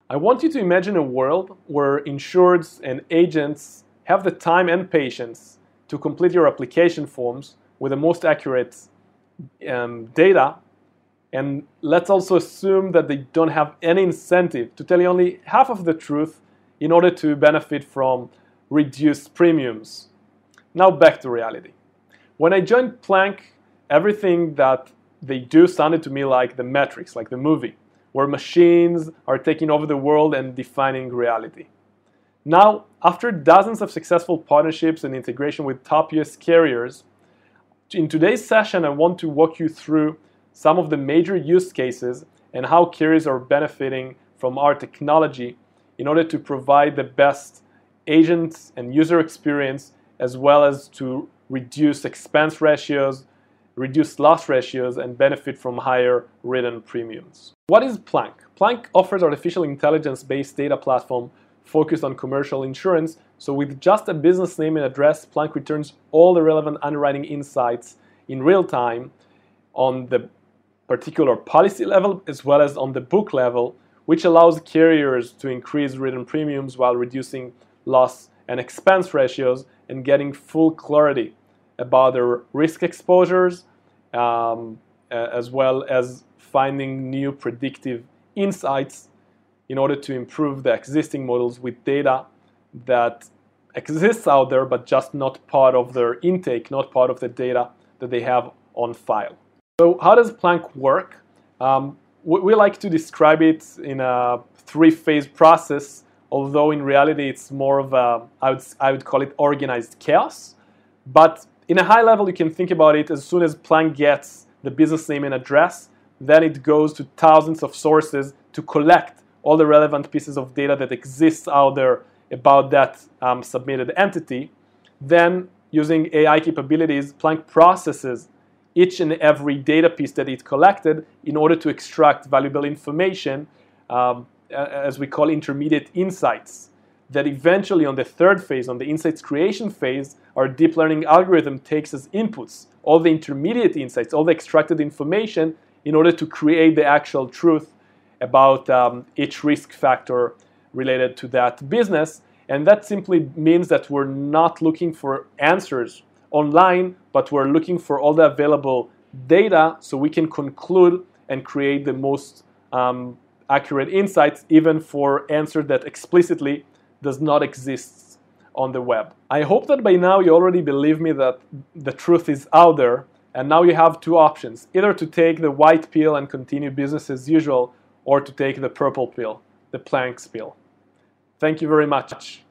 I want you to imagine a world where insureds and agents have the time and patience to complete your application forms with the most accurate data, and let's also assume that they don't have any incentive to tell you only half of the truth in order to benefit from reduced premiums. Now back to reality. When I joined Plank, everything that they do sounded to me like The Matrix, like the movie, where machines are taking over the world and defining reality. Now, after dozens of successful partnerships and integration with top US carriers, in today's session I want to walk you through some of the major use cases and how carriers are benefiting from our technology in order to provide the best agent and user experience, as well as to reduce expense ratios, reduce loss ratios, and benefit from higher written premiums. What is Plank? Plank offers artificial intelligence-based data platform focused on commercial insurance. So with just a business name and address, Plank returns all the relevant underwriting insights in real time on the particular policy level as well as on the book level, which allows carriers to increase written premiums while reducing loss and expense ratios and getting full clarity about their risk exposures, as well as finding new predictive insights in order to improve the existing models with data that exists out there but just not part of their intake, not part of the data that they have on file. So how does Plank work? We like to describe it in a three-phase process, although in reality it's more of a, I would call it organized chaos. But in a high level, you can think about it as soon as Plank gets the business name and address, then it goes to thousands of sources to collect all the relevant pieces of data that exists out there about that submitted entity. Then, using AI capabilities, Plank processes each and every data piece that it collected in order to extract valuable information, as we call intermediate insights, that eventually on the third phase, on the insights creation phase, our deep learning algorithm takes as inputs all the intermediate insights, all the extracted information in order to create the actual truth about each risk factor related to that business. And that simply means that we're not looking for answers online, but we're looking for all the available data so we can conclude and create the most accurate insights, even for answers that explicitly does not exist on the web. I hope that by now you already believe me that the truth is out there, and now you have two options: either to take the white pill and continue business as usual, or to take the purple pill, the Plank pill. Thank you very much.